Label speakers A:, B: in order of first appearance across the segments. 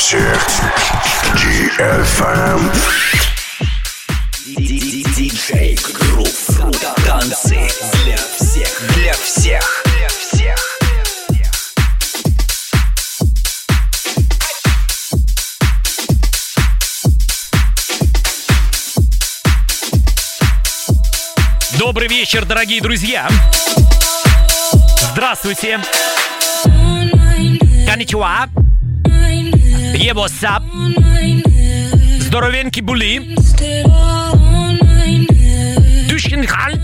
A: всех. DFM.
B: Диджей Грув. Танцы для всех. Для всех. Для всех.
C: Добрый вечер, дорогие друзья! Здравствуйте! Конничуа! Ебосап! Здоровенький були! Душкинхаль!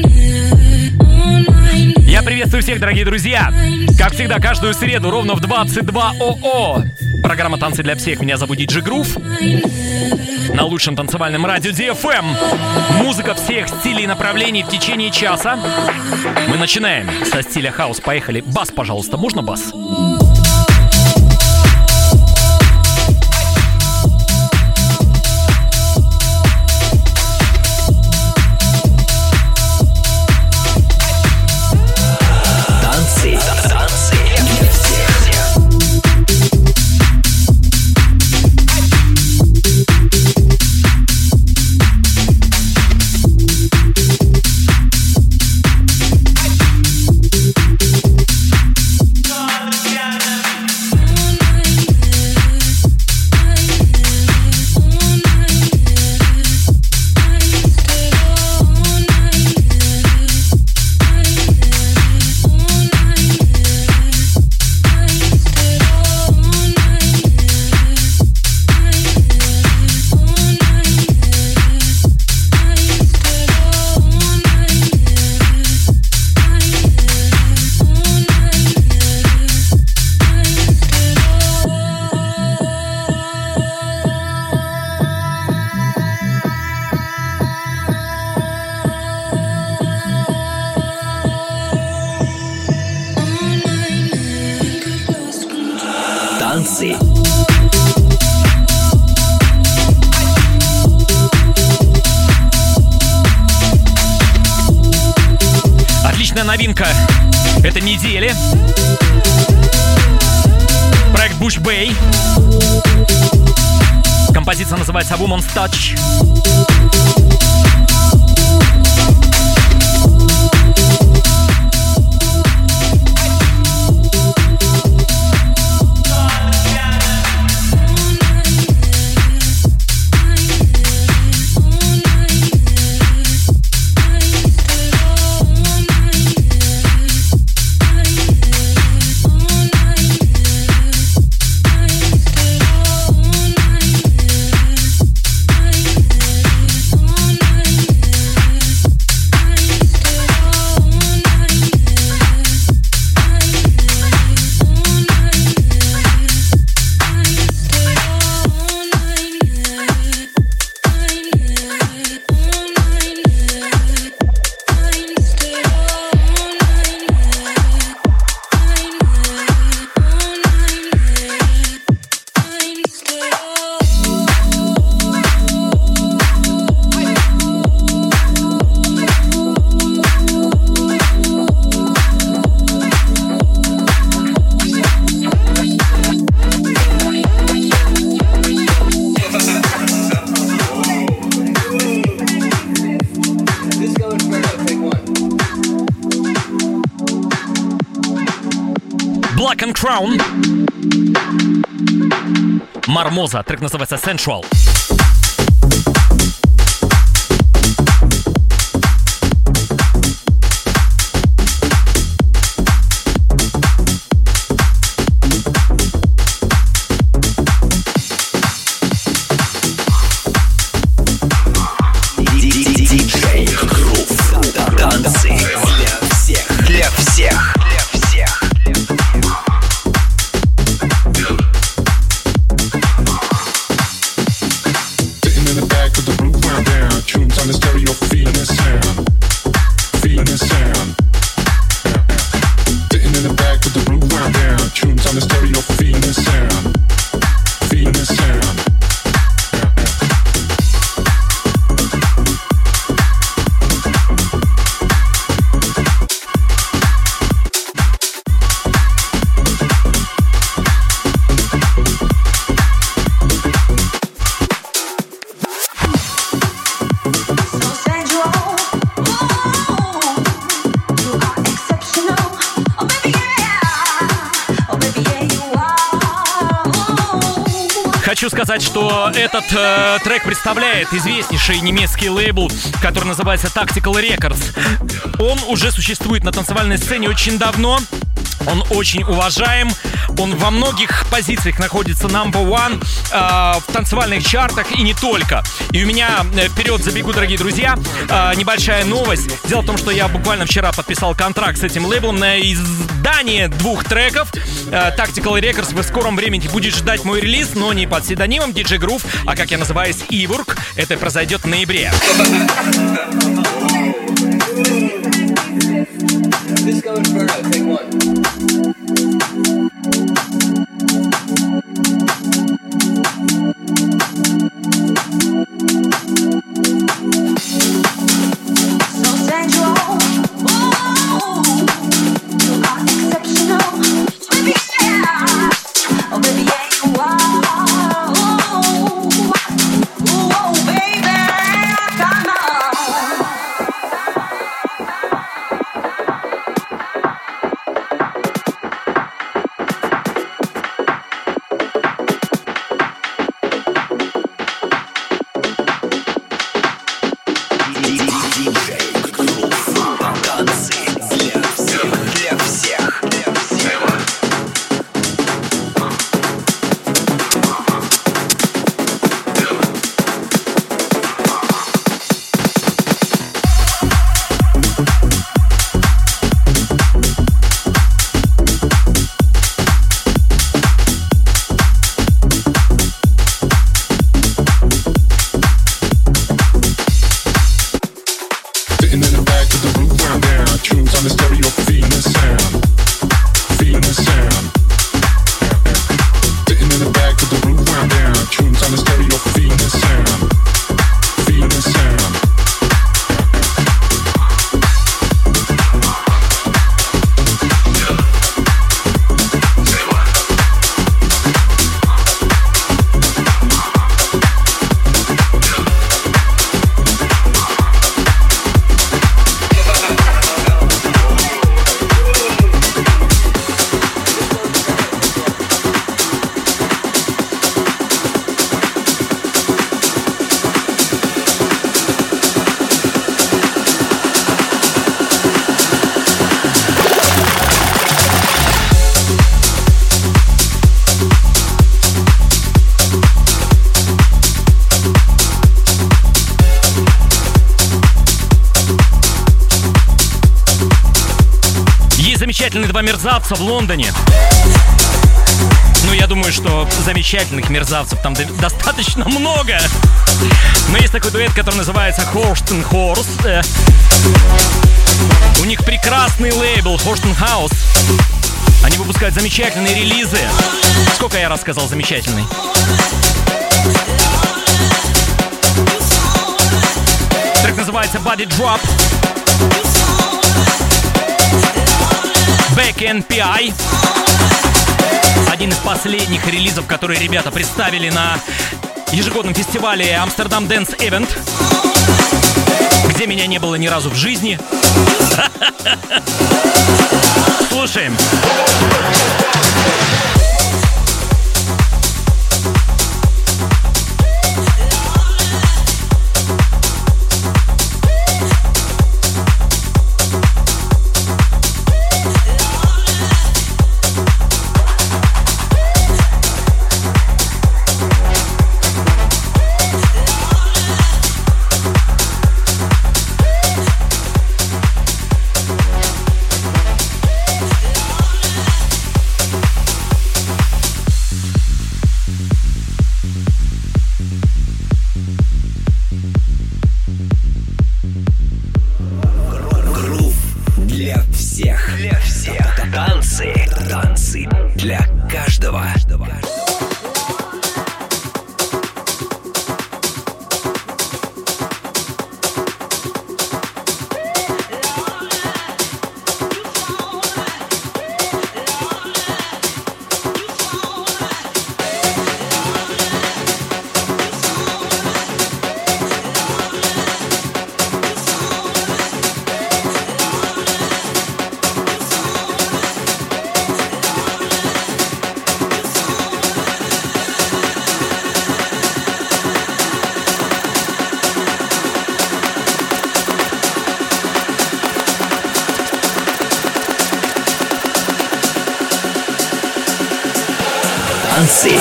C: Я приветствую всех, дорогие друзья! Как всегда, каждую среду ровно в 22 ОО. Программа «Танцы для всех». Меня зовут Диджей Грув. На лучшем танцевальном радио DFM. Музыка всех стилей и направлений в течение часа. Мы начинаем со стиля хаус. Поехали. Бас, пожалуйста. Можно бас? Отличная новинка этой недели. Проект Bush Bay. Композиция называется Woman's Touch. Black and Crown. Мармоза. Трек называется Sensual.
B: Диджей Грув. Танцы для всех. Для всех.
C: сказать, что этот трек представляет известнейший немецкий лейбл, который называется Tactical Records. Он уже существует на танцевальной сцене очень давно. Он очень уважаем. Он во многих позициях находится number one в танцевальных чартах и не только. И у меня вперед забегу, дорогие друзья, небольшая новость. Дело в том, что я буквально вчера подписал контракт с этим лейблом на издание 2 треков. Tactical Records в скором времени будет ждать мой релиз, но не под псевдонимом DJ Groove, а как я называюсь, Ивург. Это произойдет в ноябре.
A: Disco Inferno, take one.
C: Замечательные 2 мерзавца в Лондоне. Ну, я думаю, что замечательных мерзавцев там достаточно много. Но есть такой дуэт, который называется Horst & Horst. У них прекрасный лейбл Horst & House. Они выпускают замечательные релизы. Сколько я раз сказал замечательный? Трек называется Body Drop. Back NPI. Один из последних релизов, которые ребята представили на ежегодном фестивале Amsterdam Dance Event, где меня не было ни разу в жизни. Слушаем.
B: Танцы для каждого. Танцы.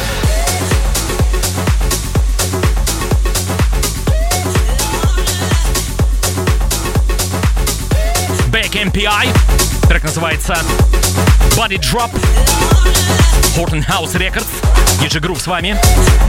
C: Back MPI. Трек называется Body Drop. Horton House Records. DJ Groove с вами.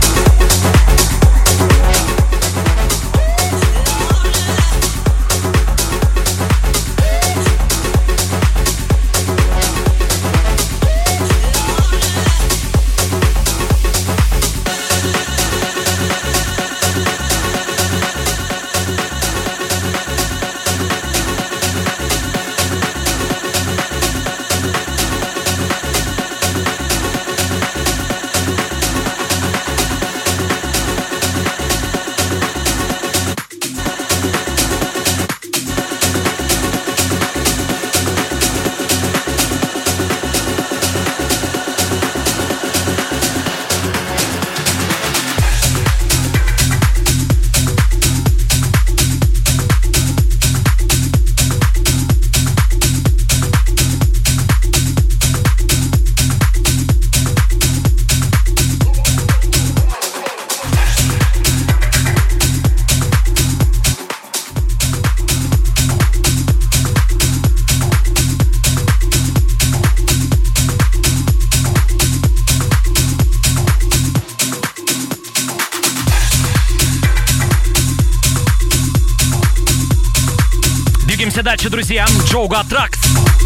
C: Дальше, друзья, Джоуга Тракс.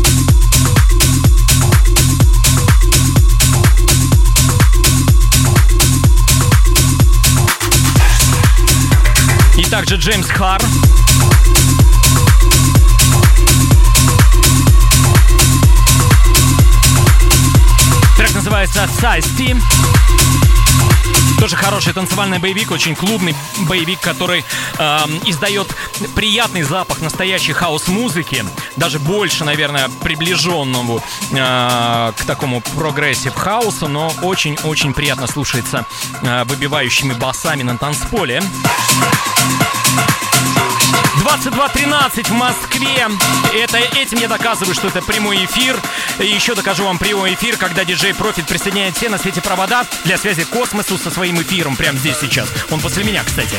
C: И также Джеймс Хар. Трек называется Size Team. Тоже хороший танцевальный боевик, очень клубный боевик, который издает приятный запах настоящей хаус-музыки, даже больше, наверное, приближенному к такому прогрессив хаусу, но очень-очень приятно слушается выбивающими басами на танцполе. 22:13 в Москве. Этим я доказываю, что это прямой эфир. И еще докажу вам прямой эфир, когда диджей Профит присоединяет все на свете провода для связи к космосу со своим эфиром прямо здесь сейчас. Он после меня, кстати.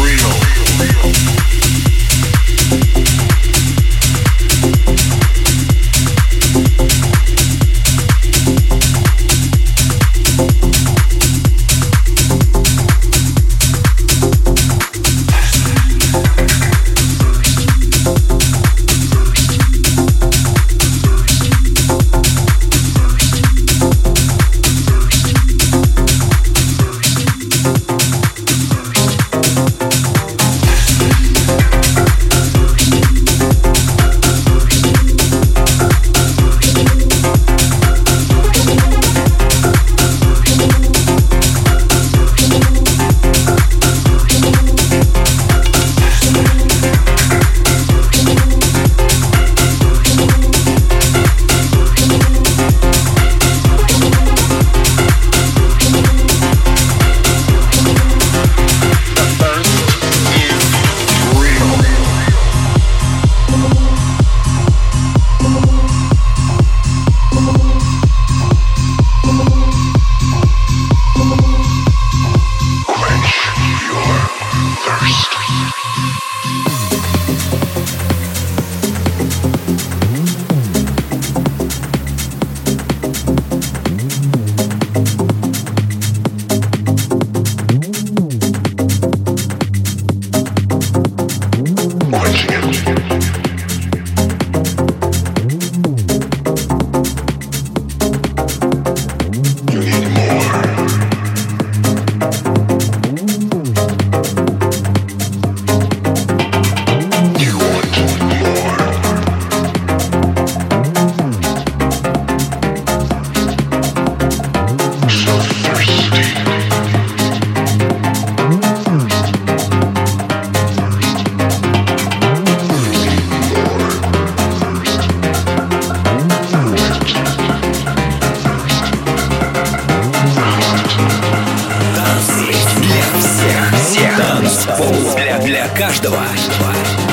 B: Для каждого.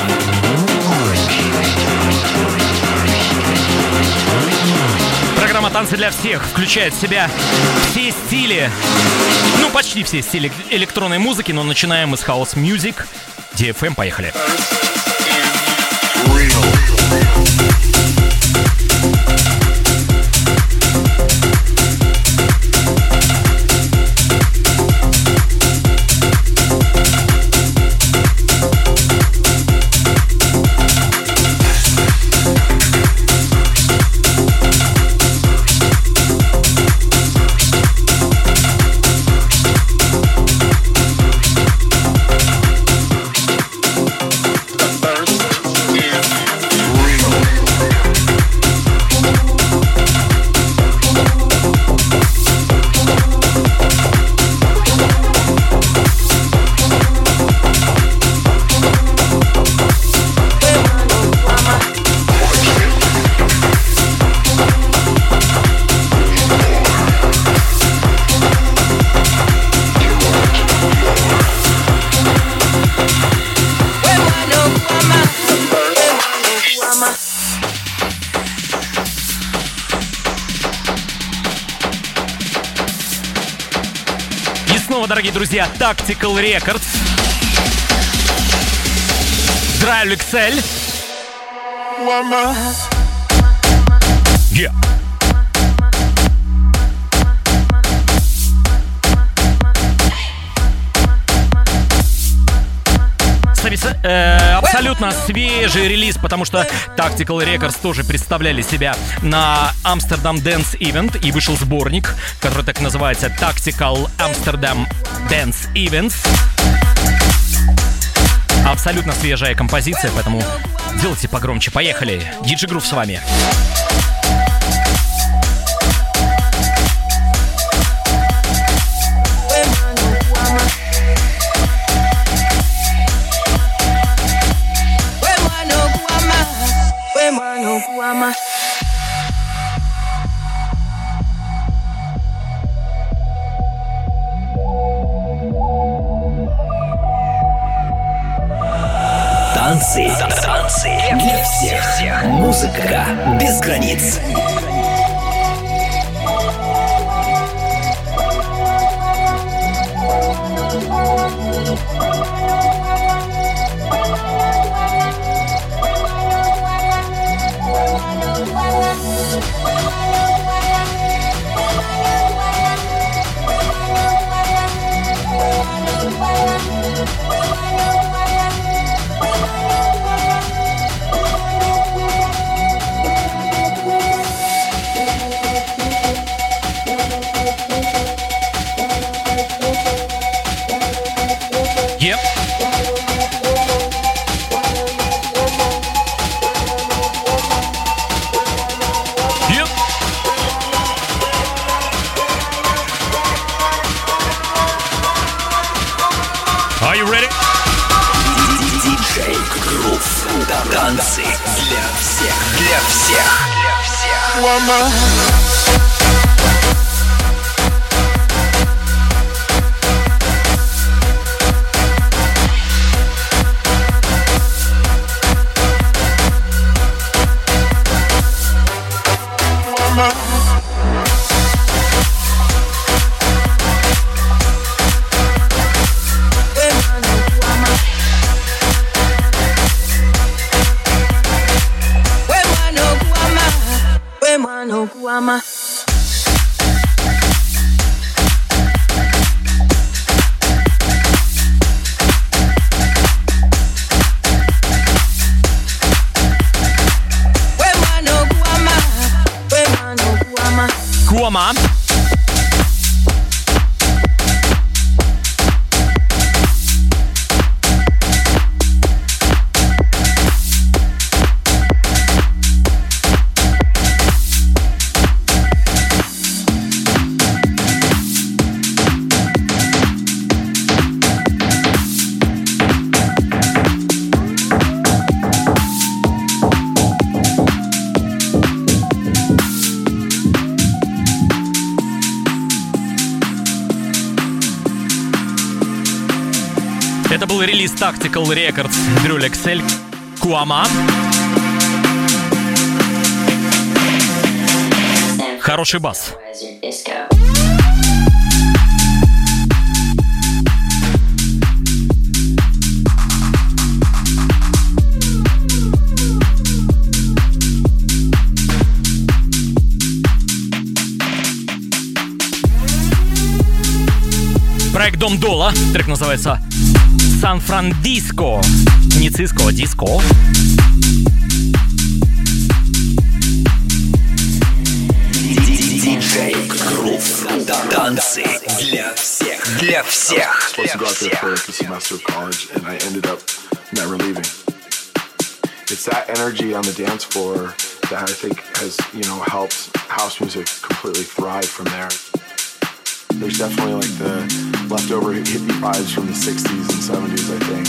C: Программа «Танцы для всех» включает в себя все стили, ну почти все стили электронной музыки, но начинаем мы с House Music. DFM, поехали. Дорогие друзья, Tactical Records, Drive XL. Yeah. Абсолютно свежий релиз, потому что Tactical Records тоже представляли себя на Amsterdam Dance Event, и вышел сборник, который так называется Tactical Amsterdam Dance Events. Абсолютно свежая композиция, поэтому делайте погромче. Поехали. DJ Groove с вами.
B: Танцы для всех. Музыка без границ. Танцы для всех.
C: Kuama. Это был релиз Tactical Records, Drive XL, Kuama. хороший бас. Проект Дом Дола. Трек называется Сан-Фран-Диско. Не Циско, а Диско.
B: Диджей Грув. Танцы для всех. Для всех.
D: Supposed to go out there for like a semester of college, and I ended up never leaving. It's that energy on the dance floor that I think has, helped house music completely thrive from there. There's definitely like the leftover hippie vibes from the 60s and 70s, I think.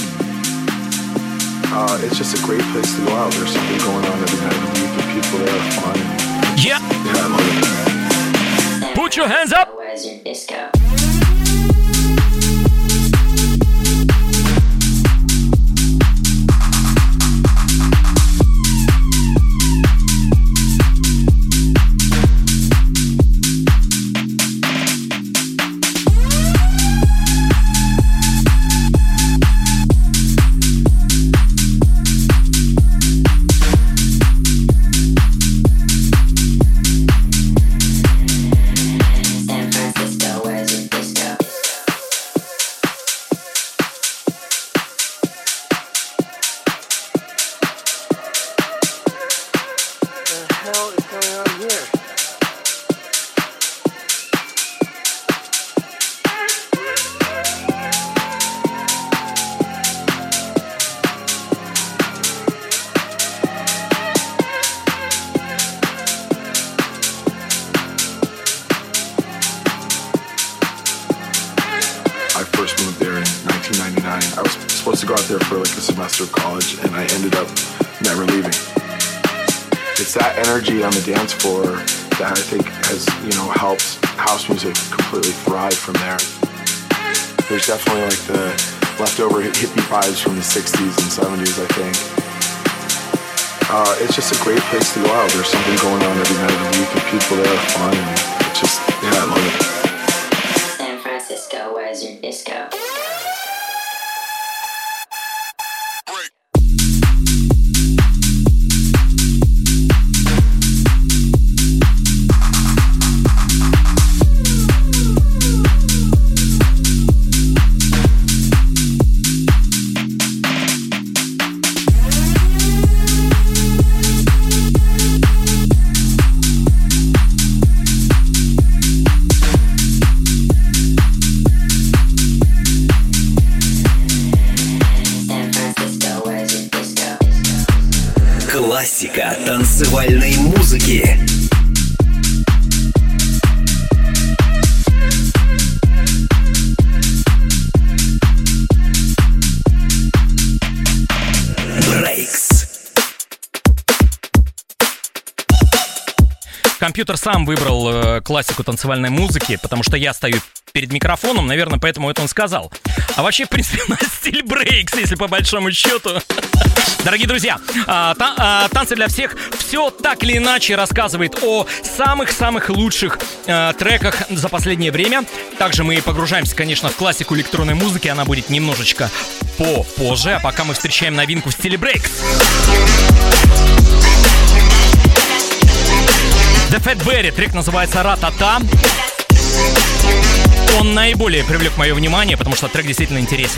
D: It's just a great place to go out. There's something going on every night of the week, and people there are fun.
C: Yeah.
D: Yeah, I love it.
C: Put your hands up.
E: Where's your disco?
D: I was supposed to go out there for like a semester of college, and I ended up never leaving. It's that energy on the dance floor that I think has, helped house music completely thrive from there. There's definitely like the leftover hippie vibes from the 60s and 70s, I think. It's just a great place to go out. There's something going on every night of the week, and people there are fun, and it's just, I love it.
E: San Francisco, where's your disco?
B: Классика танцевальной музыки. Breaks.
C: Компьютер сам выбрал классику танцевальной музыки, потому что я стою перед микрофоном, наверное, поэтому это он сказал. А вообще, в принципе, у нас стиль брейкс, если по большому счету. Дорогие друзья, танцы для всех все так или иначе рассказывает о самых-самых лучших треках за последнее время. Также мы погружаемся, конечно, в классику электронной музыки. Она будет немножечко попозже, а пока мы встречаем новинку в стиле брейкс. The Fat Berry, трек называется «Ра-та-та». Он наиболее привлек мое внимание, потому что трек действительно интересен.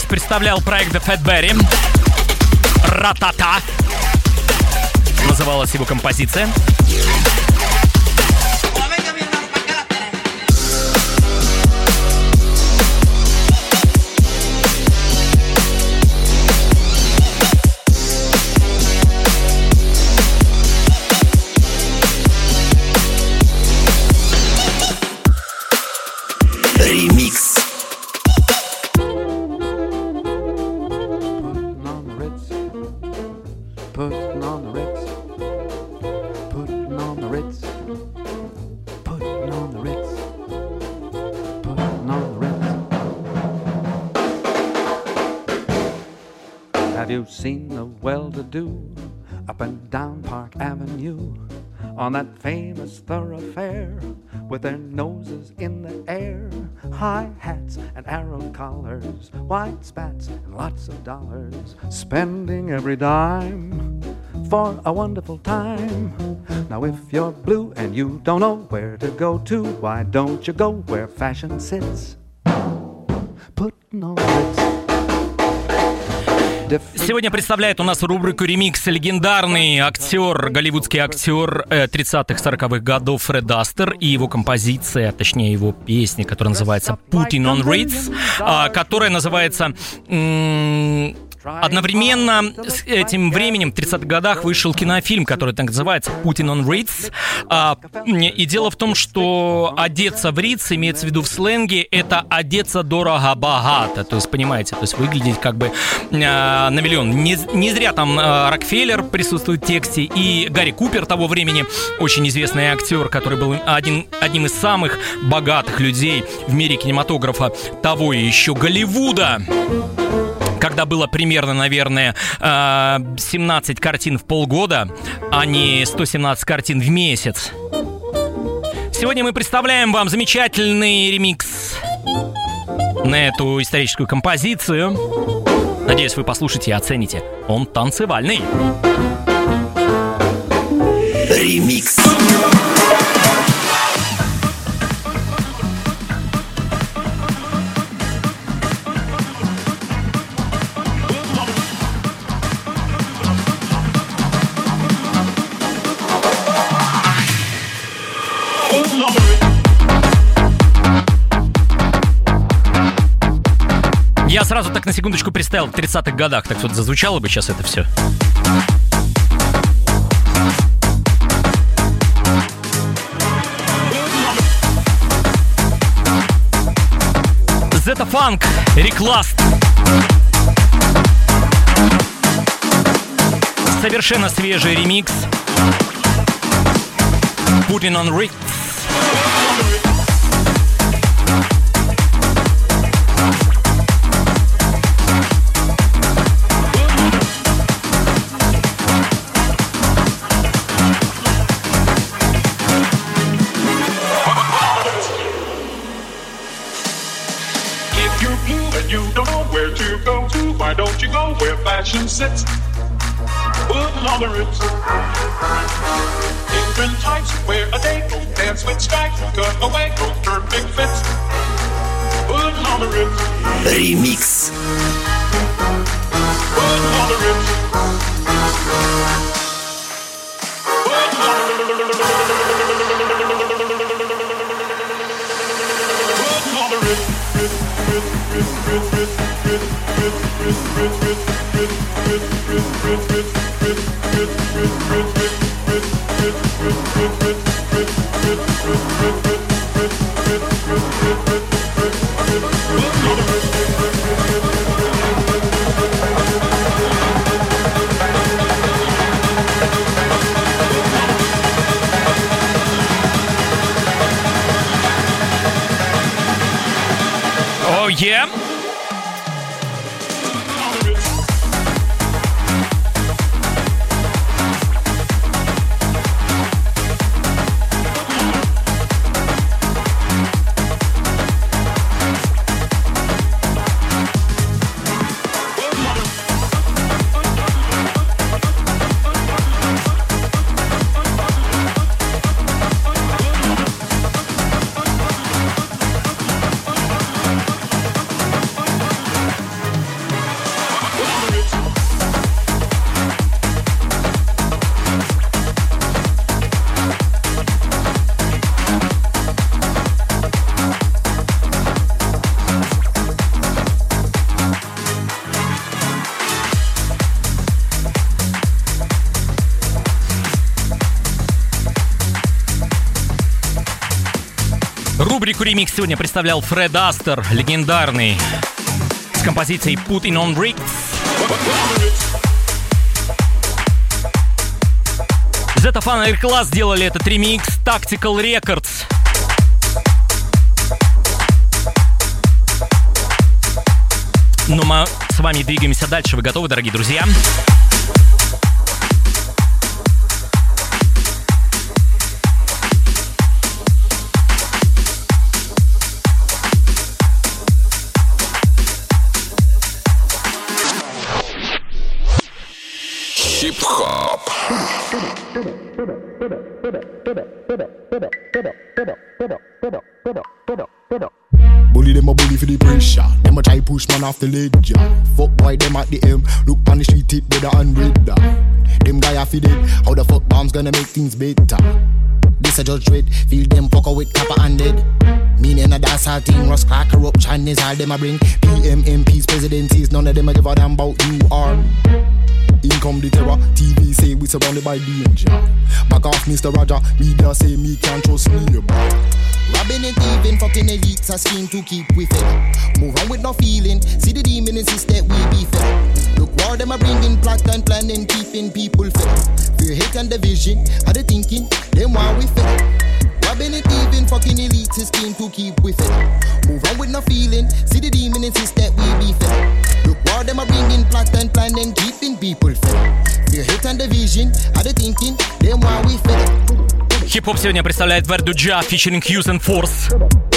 C: представлял проект The Fatberry. Ратата. Называлась его композиция.
B: Ремикс.
F: Have you seen the well-to-do up and down Park Avenue on that famous thoroughfare with their noses in the air, high hats and arrow collars, white spats and lots of dollars, spending every dime for a wonderful time? Now if you're blue and you don't know where to go to, why don't you go where fashion sits, putting on Ritz.
C: Сегодня представляет у нас рубрику «Ремикс» легендарный актер, голливудский актер 30-х-40-х годов Фред Астер и его композиция, точнее его песня, которая называется «Putting on Ritz», которая называется... Одновременно с этим временем, в 30-х годах, вышел кинофильм, который так называется «Putting on Ritz». И дело в том, что одеться в Ritz, имеется в виду в сленге, это одеться дорого-богато. То есть, понимаете, то есть выглядеть как бы на миллион. Не зря там Рокфеллер присутствует в тексте, и Гарри Купер того времени, очень известный актер, который был одним из самых богатых людей в мире кинематографа того и еще Голливуда. Когда было примерно, наверное, 17 картин в полгода, а не 117 картин в месяц. Сегодня мы представляем вам замечательный ремикс на эту историческую композицию. Надеюсь, вы послушаете и оцените. Он танцевальный.
B: Ремикс.
C: Я сразу так на секундочку представил в 30-х годах, так вот зазвучало бы сейчас это все. Zeta Funk, Reclast. Совершенно свежий ремикс. Putting on Ritz.
G: Why don't you go where fashion sits? Put on the Ritz. Different types wear a day, go dance with stripes, cut away, go turn big fits. Put on the Ritz.
B: Ремикс.
G: Put on the Ritz.
C: Oh yeah. Рубрику «Ремикс» сегодня представлял Фред Астер, легендарный, с композицией «Putting on Bricks». Zeta Fan Air Class сделали этот ремикс Tactical Records. Ну, мы с вами двигаемся дальше. Вы готовы, дорогие друзья?
B: Хип-хоп.
H: Bully them a bully for the pressure. Them a try push man off the ledge. Fuck boy them at the M. Look on the street it better and red. Them guy a feed it. How the fuck bombs gonna make things better? This a judge rate. Feel them fucker with copper and dead. Meaning a dance hall thing. Rust crack corruption is all them a bring. PM, MPs, presidencies. None of them a give a damn about you or in come the terror. TV say we surrounded by danger. Back off Mr. Roger. Media say me can't trust me. Robbing and thieving, fucking elites a scheme to keep with it. Move on with no feeling. See the demon insist that we be fed. Look war them a bringing plot and planning, keeping people fed. Fear, hate and division. How they thinking? Them why we fed. Robbing and thieving, fucking elites a scheme to keep with it. Move on with no feeling. See the demon insist that we be fed. Look war them a bringing plot and planning, keeping people fed. Fear, hate and division. How they thinking? Them why we fed.
C: Хип-хоп сегодня представляет Verduja featuring Hughes and Force.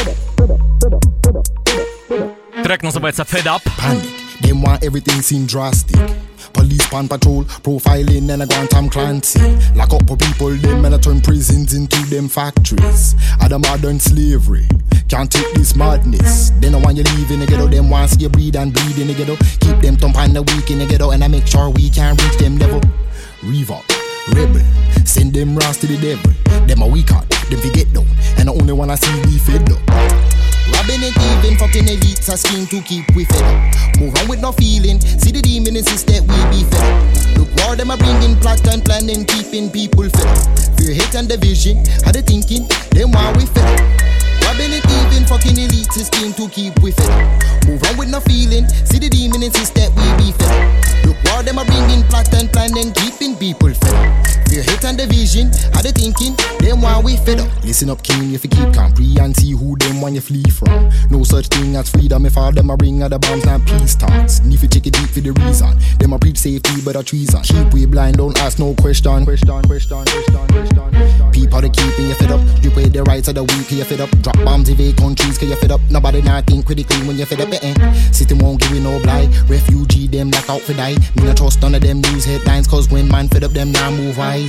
C: Трек называется Fed Up.
H: Panic, them want everything seem drastic. Police pan patrol, profiling and a Grand Tom Clancy. Lock up for people, them and a turn prisons into them factories. At the modern slavery, can't take this madness. They don't want you leave in the ghetto, them want see you breed and bleed in the ghetto. Keep them thump on the weak in the ghetto, and I make sure we can reach them level. Revolt, rebel, send them rounds to the devil. Them a weak heart, them forget down, and the only one I see be fed up. Robbing and thieving, fucking elites a scheme to keep we fed up. Move on with no feeling, see the demon insist that we be fed up. Look war them a bringing plot and planning, keeping people fed up. Fear, hate and division, how they thinking, them why we fed up. Robbing and thieving, fucking elites a scheme to keep we fed up. Move on with no feeling, see the demon insist that we be fed up. Look war them a bringing plot and planning, keeping people fed up. Fear, hate and division, how they thinking, them why we fed up. Listen up king, if you keep compre and see who them want you flee from. No such thing as freedom if all them a bring at the bombs and peace talks. And if you check it deep for the reason, them a preach safety but a treason. Keep we blind, don't ask no question. People they keeping you fed up. You pay the rights of the weak, you fed up. Drop bombs invade countries, cause you fed up. Nobody not think critically when you fed up, City won't give you no blight. Refugee them lock out for die. Me not trust none of them news headlines, cause when man fed up them now move wise.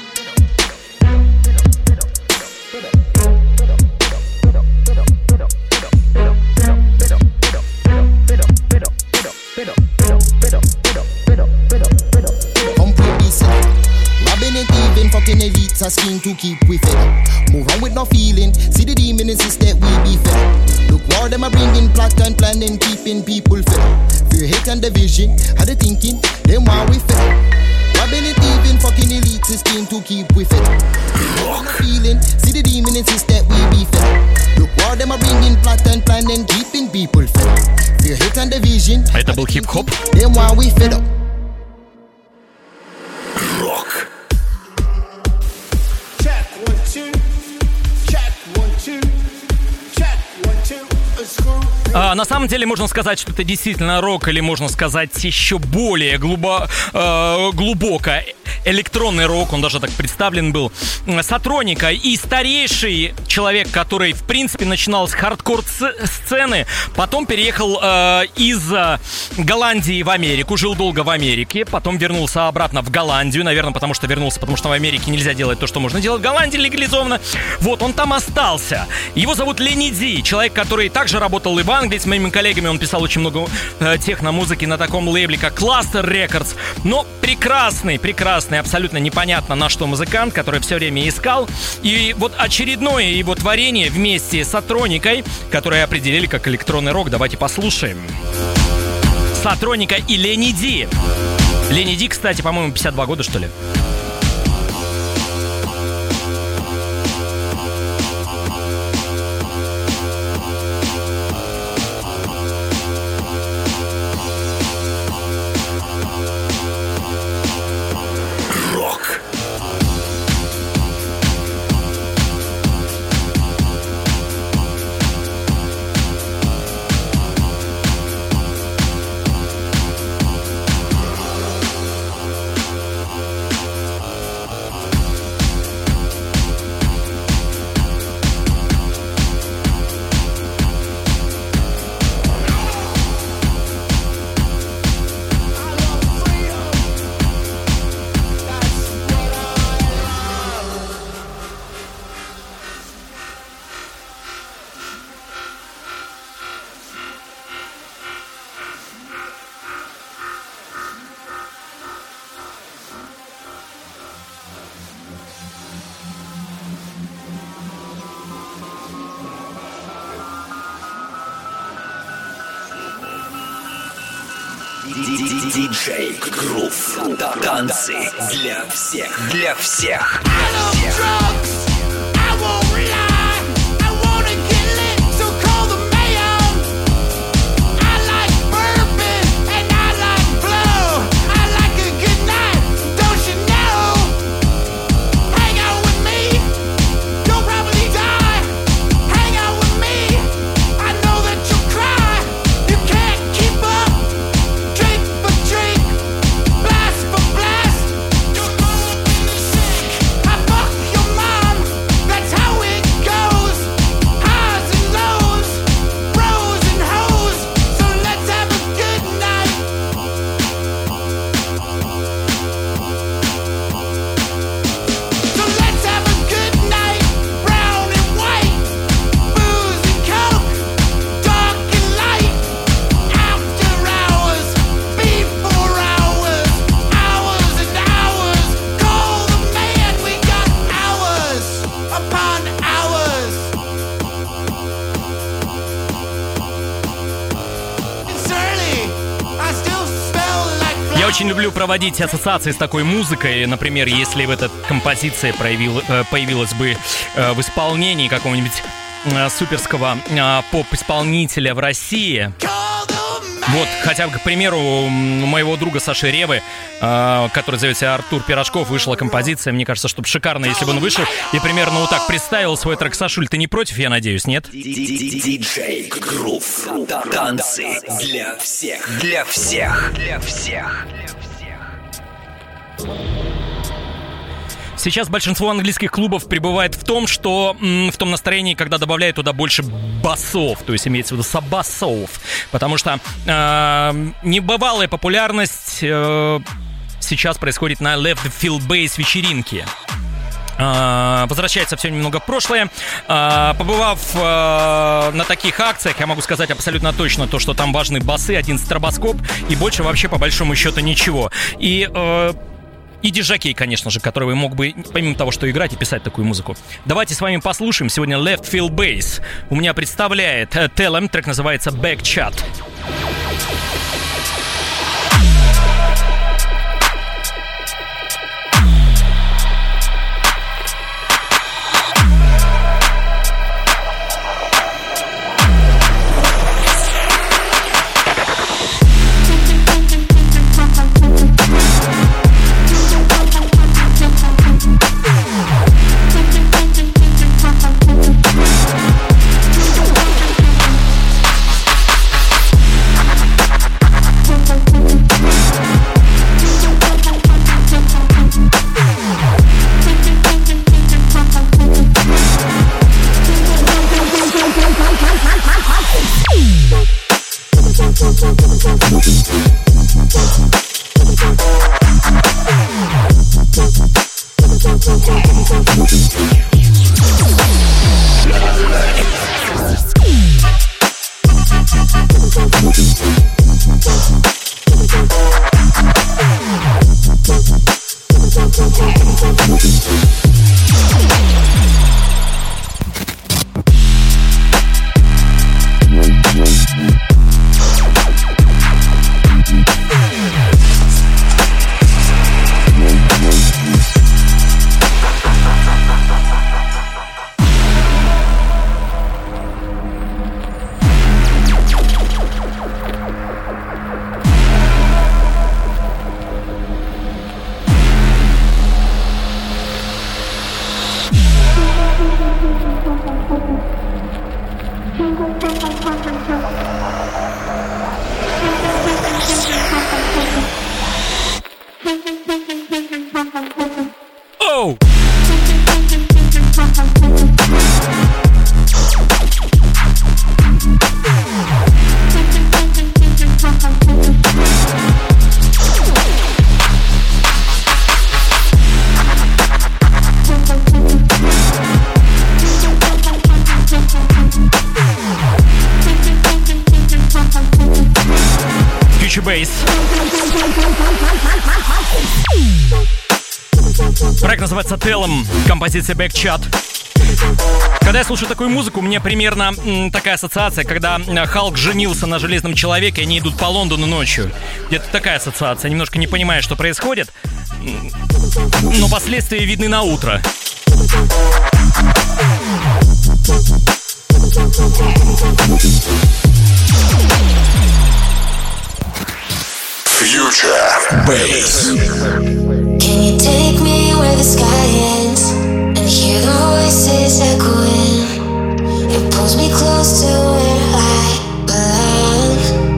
H: Fucking elites a scheme to keep we fed up. Move on with no feeling, see the demon insist that we be fed up. Look war them a bringing plot and planning, keeping people fed up. Fear, hate and division, how they thinking, them why we fed up. Robbing and thieving, fucking elites a scheme to keep we fed up. Move on with no feeling, see the demon insist that we be fed up. Look war them a bringing plot and planning, keeping people fed up. Fear, hate and division.
C: Это был хип-хоп.
H: Them why we fed up.
B: Рок.
C: На самом деле можно сказать, что это действительно рок, или можно сказать еще более глубоко электронный рок, он даже так представлен был. Сатроника и старейший человек, который в принципе начинал с хардкор-сцены, потом переехал из Голландии в Америку, жил долго в Америке, потом вернулся обратно в Голландию, наверное, потому что в Америке нельзя делать то, что можно делать в Голландии легализованно. Вот, он там остался. Его зовут Ленни Ди, человек, который также работал и в Англии с моими коллегами, он писал очень много техно-музыки на таком лейбле, как Cluster Records, но прекрасный, абсолютно непонятно на что музыкант, который все время искал. И вот очередное его творение вместе с Сатроникой, которое определили как электронный рок. Давайте послушаем. Сатроника и Ленни Ди. Ленни Ди, кстати, по-моему, 52 года, что ли.
B: Диджей Грув. Танцы для всех. Для всех.
C: Очень люблю проводить ассоциации с такой музыкой. Например, если в этой композиции появилась бы в исполнении какого-нибудь суперского поп-исполнителя в России. Вот, хотя бы, к примеру, у моего друга Саши Ревы, который зовется Артур Пирожков, вышла композиция. Мне кажется, что шикарно, если бы он вышел и примерно вот так представил свой трек. Сашуль, ты не против, я надеюсь, нет?
B: Диджей Грув. Танцы для всех. Для всех. Для всех.
C: Сейчас большинство английских клубов пребывает в том, что в том настроении, когда добавляют туда больше басов, то есть имеется в виду саббасов, потому что небывалая популярность сейчас происходит на Left Field Bass вечеринке. Возвращается все немного в прошлое. Побывав на таких акциях, я могу сказать абсолютно точно то, что там важны басы, один стробоскоп и больше вообще по большому счету ничего. И диджакей, конечно же, который мог бы, помимо того, что играть и писать такую музыку. Давайте с вами послушаем. Сегодня Left Field Bass у меня представляет Telem. Трек называется Back Chat. Проект называется Telem, композиция Back Chat. Когда я слушаю такую музыку, у меня примерно такая ассоциация, когда Халк женился на Железном Человеке, и они идут по Лондону ночью. Где-то такая ассоциация. Немножко не понимаю, что происходит, но последствия видны на утро.
B: Future Bass.
E: Can you take me where the sky ends and hear the voices echoing? It pulls me close to where I belong.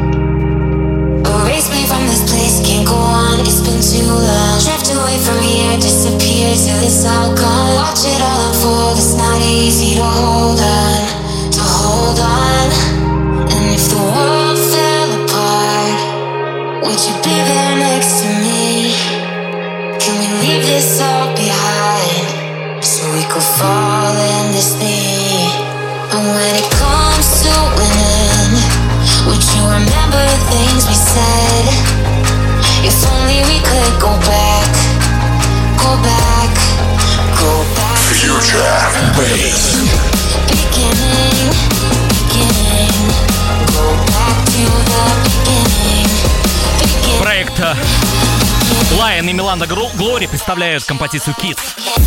E: Erase me from this place, can't go on, it's been too long. Drift away from here, disappear till it's all gone. Watch it all unfold, it's not easy to hold on, to hold on. And if the world fell apart, would you be there next to me? Can we leave this all behind so we could fall endlessly? And when it comes to winning, would you remember the things we said? If only we could go back, go back, go back.
B: Future Bass.
E: Beginning, beginning, go back to the beginning.
C: Проект Lion и Миланда Глори представляют композицию Kids.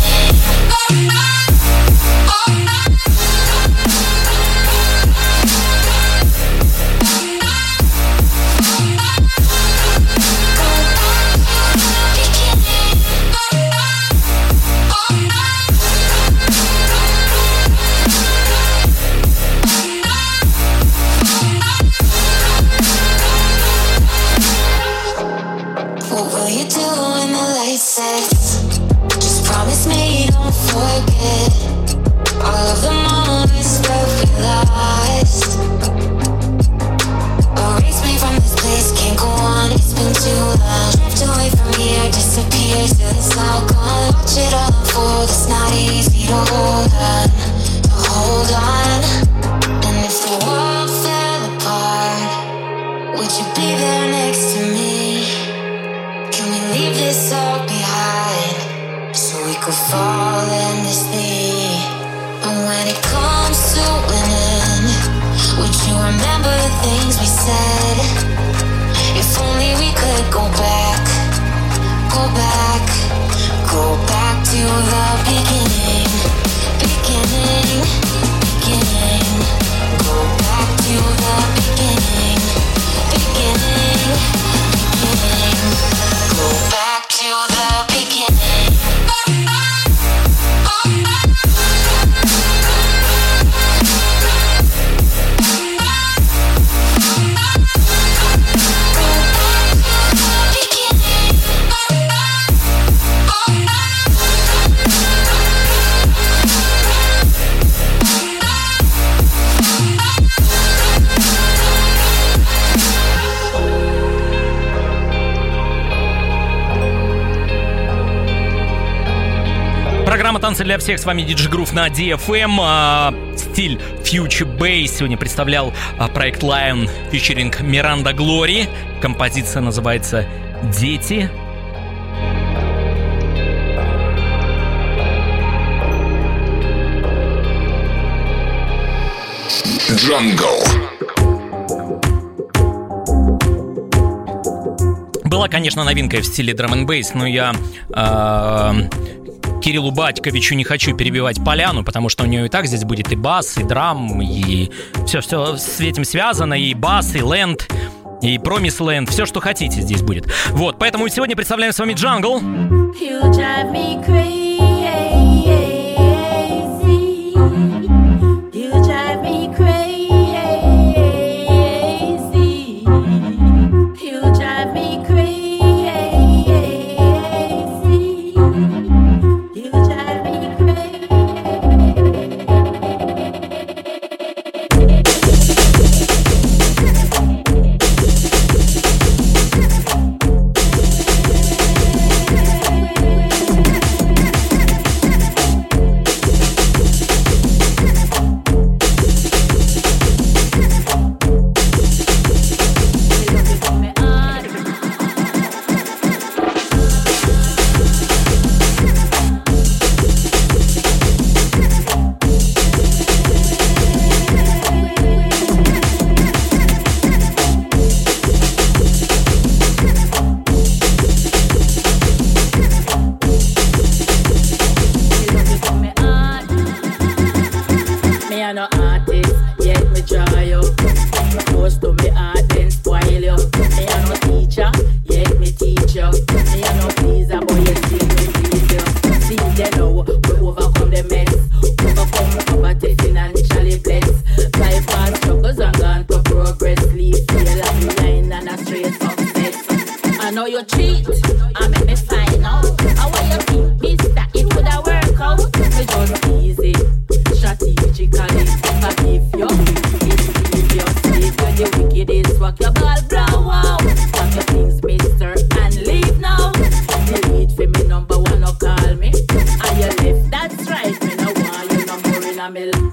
E: What will you do when the light sets? Just promise me you don't forget all of the moments that we lost. Erase me from this place, can't go on, it's been too long. Drift away from here, disappear till it's all gone. Watch it all unfold, it's not easy to hold on, to hold on. And if the world fell apart, would you be there next to me? Can we leave this all behind so we could fall endlessly? And when it comes to winning, would you remember the things we said? If only we could go back, go back, go back to the beginning, beginning, beginning. Go back to the beginning, beginning, beginning. Go back to the beginning.
C: Программа «Танцы для всех». С вами DJ Groove на DFM. Стиль Future Bass. Сегодня представлял проект Lion featuring Миранда Глори. Композиция называется «Дети».
B: Jungle.
C: Была, конечно, новинка в стиле драм-н-бейс, но я Кириллу Батьковичу не хочу перебивать поляну, потому что у него и так здесь будет и бас, и драм, и все с этим связано, и бас, и ленд, и промис ленд, все, что хотите, здесь будет. Вот, поэтому сегодня представляем с вами Jungle.
I: I make me find out. How will you think, mister, it would have worked out? Me just easy, strategically. Forgive you, if you sleep when the wickedest walk your ball blow out. Pack your things, mister, and leave now. Delete for me number one, no call me. And you left, that's right. Me no want you no more in a me life.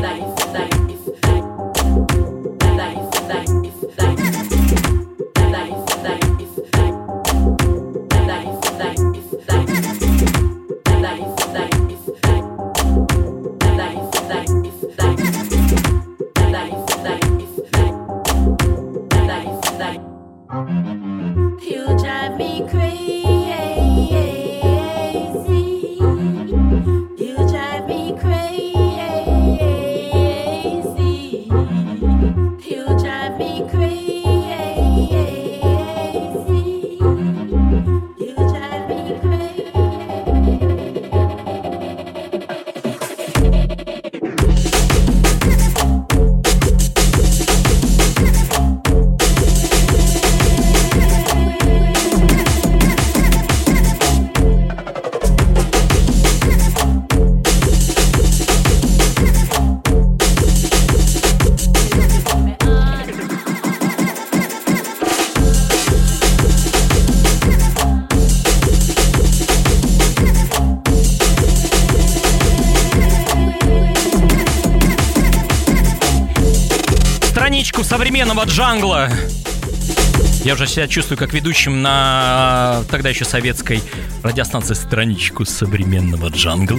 C: Современного джангла. Я уже себя чувствую как ведущим на тогда еще советской радиостанции «Страничку современного джангла».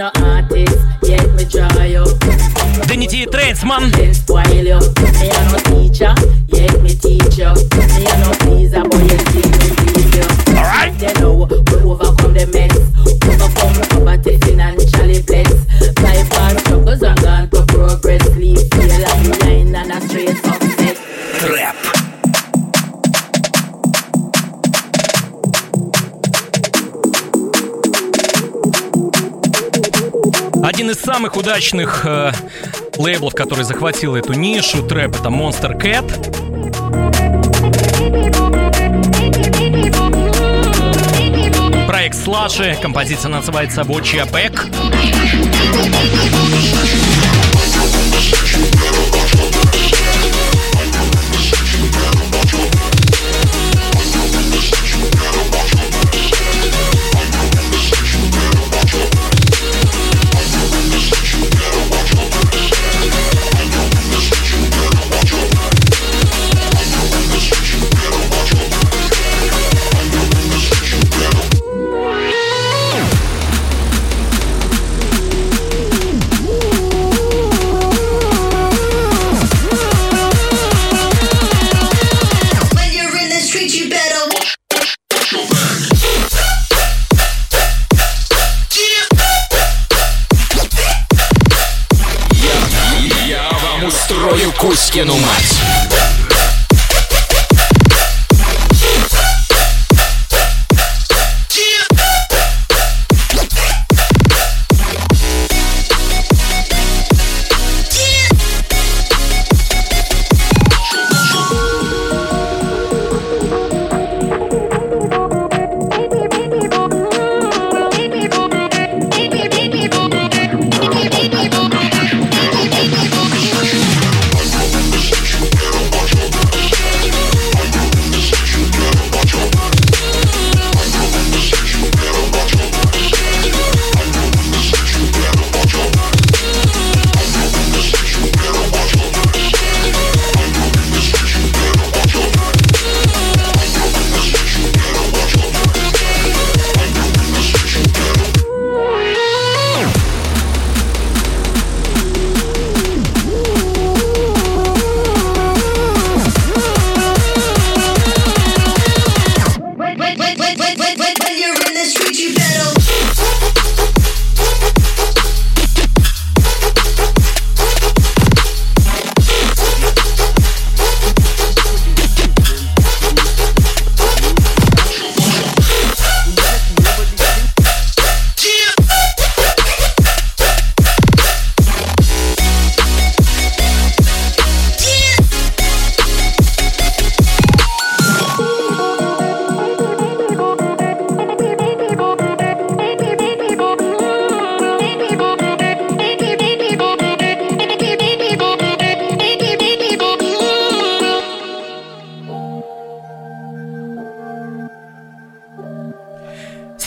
C: Дэнити Трейнсман.
B: Рэп.
C: Один из самых удачных лейблов, который захватил эту нишу трэп, это Monster Cat. Проект Слаши, композиция называется Watch Your Back.
B: Кузькину мать.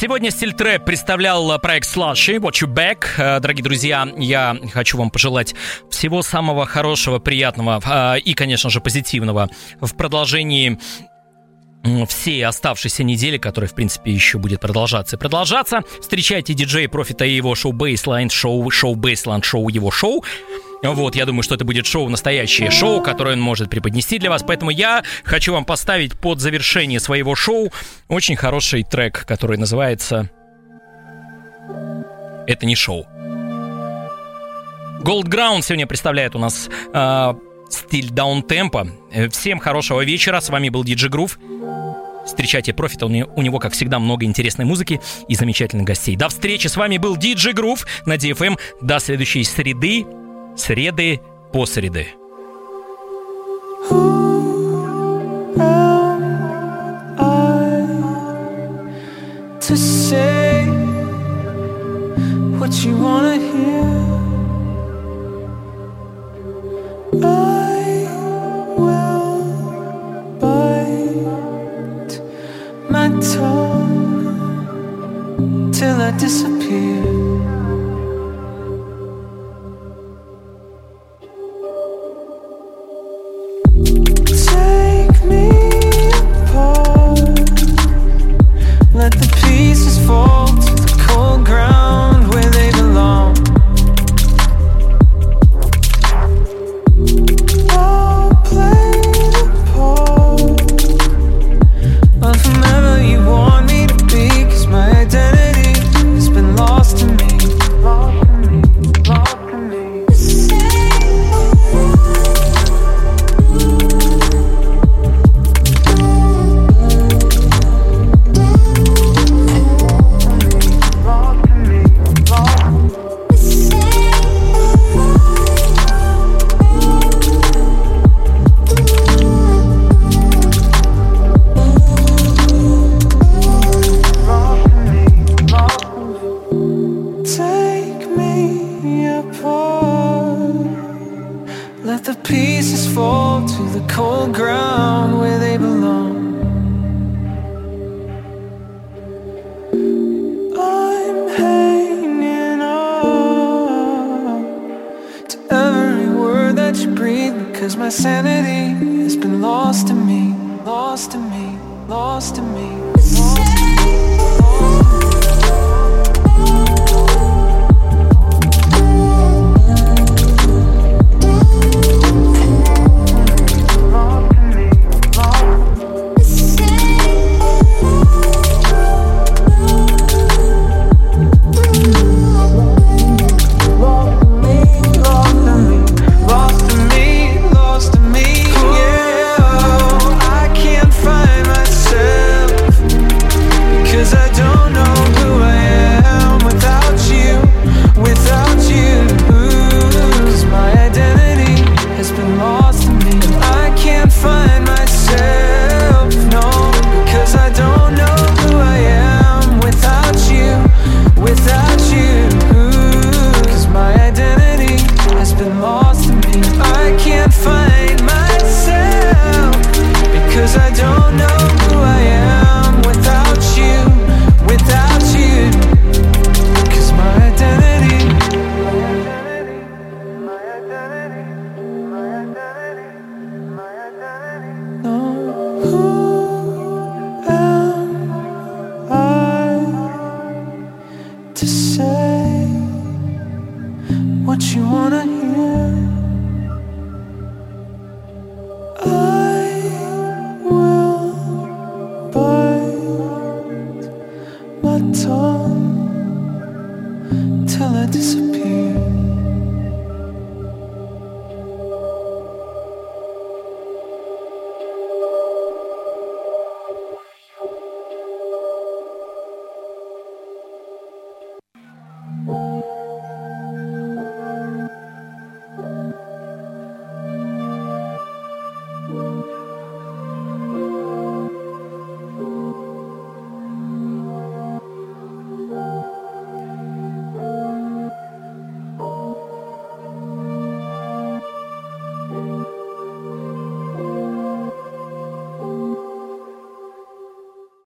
C: Сегодня стиль трэп представлял проект Slushy, What You Back. Дорогие друзья, я хочу вам пожелать всего самого хорошего, приятного и, конечно же, позитивного в продолжении всей оставшейся недели, которая, в принципе, еще будет продолжаться и продолжаться. Встречайте диджея Профита и его шоу Baseline, шоу Baseline, шоу его шоу. Вот, я думаю, что это будет шоу, настоящее шоу, которое он может преподнести для вас. Поэтому я хочу вам поставить под завершение своего шоу очень хороший трек, который называется «Это не шоу». Gold Ground сегодня представляет у нас стиль даунтемпа. Всем хорошего вечера. С вами был DJ Groove. Встречайте Профита, у него, как всегда, много интересной музыки и замечательных гостей. До встречи, с вами был DJ Groove на DFM. До следующей среды по среды.
J: To say what you wanna hear, I will bite my tongue till I disappear. Take me apart, let the pieces fall to the cold ground where they belong. I'll play the part of whomever you want me to be, 'cause my identity has been lost to me, lost to me, lost to me. Let the pieces fall to the cold ground where they belong. I'm hanging on to every word that you breathe, because my sanity has been lost to me, lost to me, lost to me, lost to me. Till I disappear.